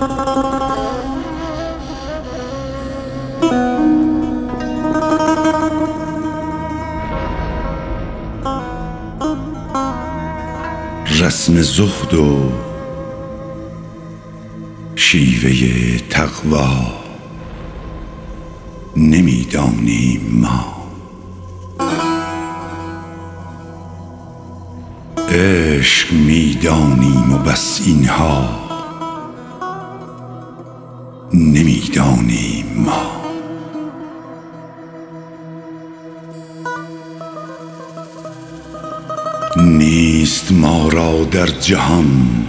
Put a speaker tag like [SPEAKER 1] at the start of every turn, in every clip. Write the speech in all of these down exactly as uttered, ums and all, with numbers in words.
[SPEAKER 1] رسم زهد و شیوه تقوا نمی‌دانیم ما. عشق می‌دانیم و بس اینها نمی‌دانیم ما. نیست ما را در جهان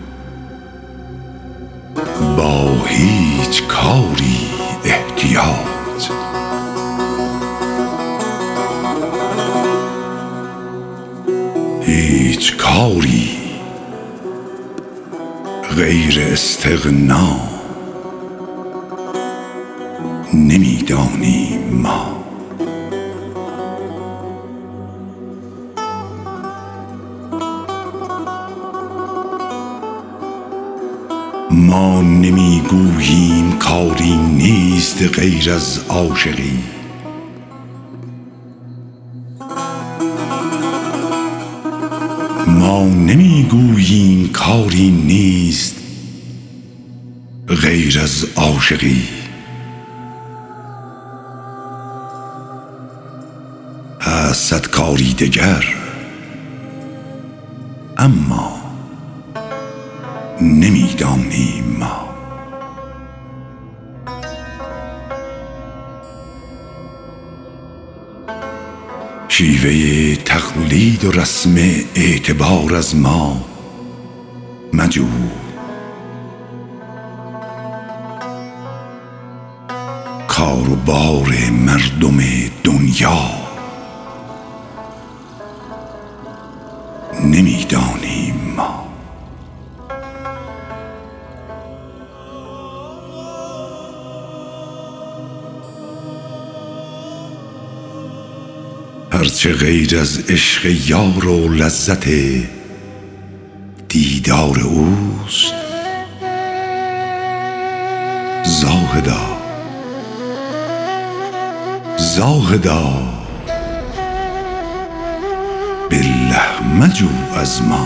[SPEAKER 1] با هیچ کاری احتیاج. هیچ کاری غیر استغنا نمی‌دانیم ما. ما نمیگوییم کاری نیست غیر از عاشقی. ما نمیگوییم کاری نیست غیر از عاشقی. هست صد کاری دگر اما نمی‌دانیم ما. شیوه تقلید و رسم اعتبار از ما مجو. کار و بار مردم دنیا نمی‌دانیم ما. هرچه غیر از عشق یار و لذت دیدار اوست زاهدا زاهدا بالله مجو از ما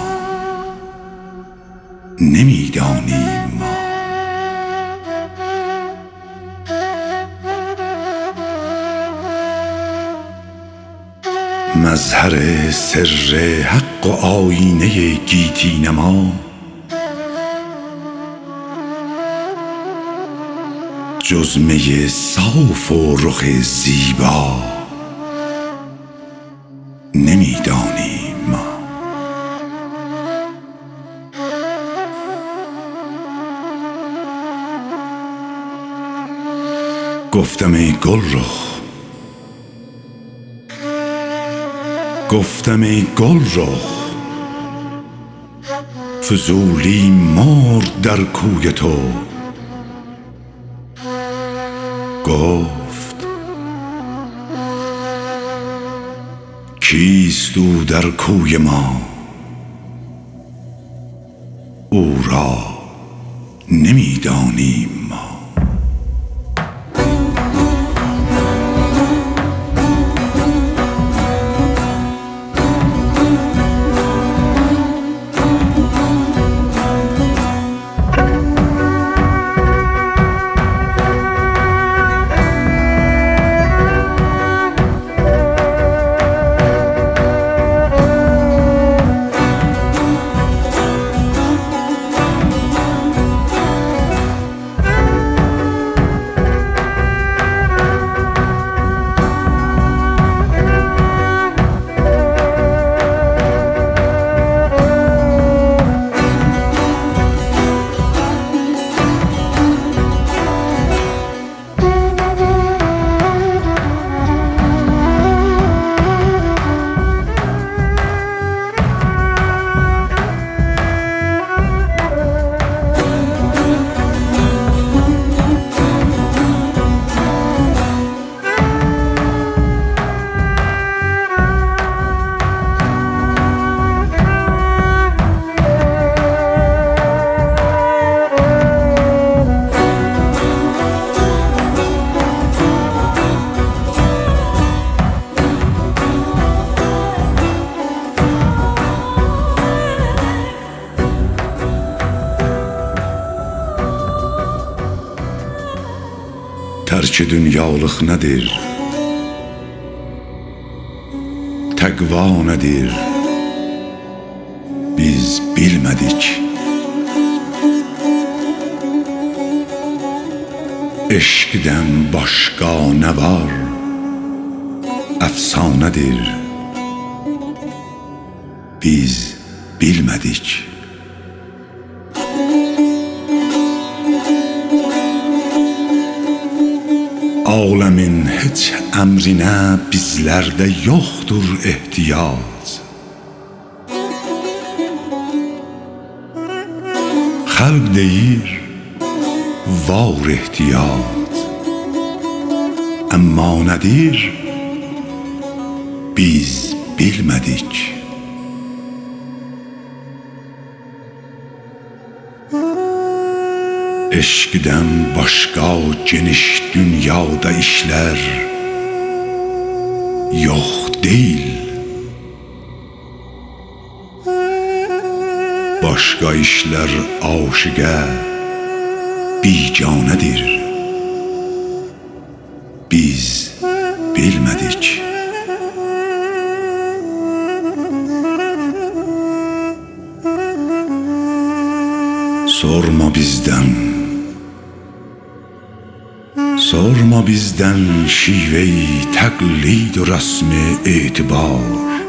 [SPEAKER 1] نمی‌دانیم ما. مظهر سر حق و آیینه گیتی نما جز می صاف و رخ زیبا نمی‌دانیم ما. گفتم ای گلرخ گفتم ای گلرخ فضولی مرد در کوی تو. گفت کیست او در کوی ما او را نمی‌دانیم ما. Tərk dünyalıq nədir? Təqva nədir? Biz bilmədik. Eşqdən başqa nə var? Əfsanədir. Biz bilmədik. Aləmin heç əmrinə bizlərdə yoxdur ehtiyac. Xəlq deyir, var ehtiyac. Əmma nədir? Biz bilmədik. Eşqdən başqa geniş dünyada işlər yox deyil. Başqa işlər aşiqə biganədir. Biz bilmədik. Sorma bizdən, sorma bizdən şive-i təqlid و رسم etibar.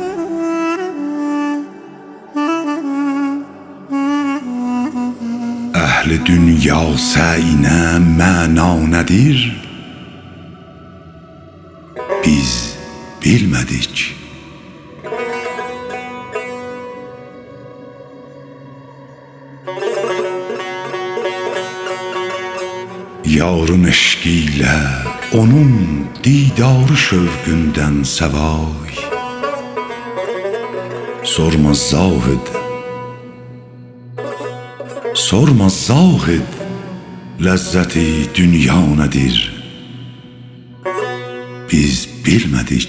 [SPEAKER 1] Əhl-i dünya səyinə məna nədir? Biz bilmədik. Yarın eşqi ilə onun didarı şövqündən səvay. Sorma zahid, sorma zahid, ləzzəti dünya nədir? Biz bilmədik.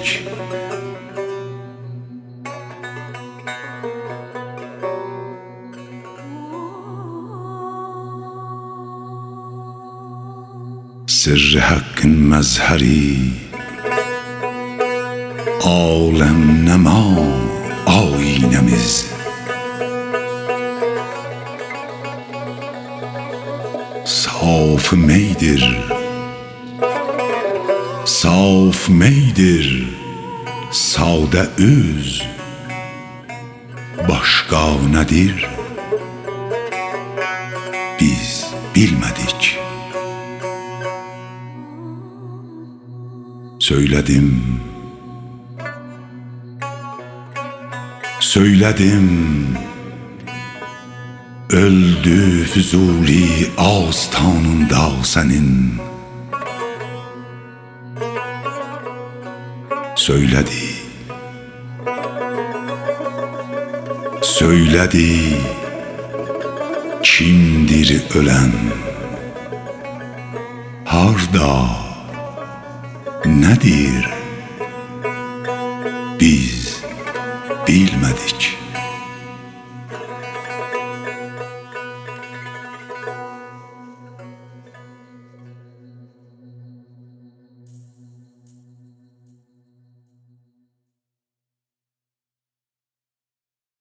[SPEAKER 1] Sirr haqqın məzhəri, aləm nəma aynəmiz. Saf meydir, saf meydir, sadə öz. Başqa nədir? Biz bilmədik. Söylədim, söylədim, öldü Füzuli ağıztanında sənin. Söylədi, söylədi, kimdir ölən? Harda? Nədir? Biz bilmədik.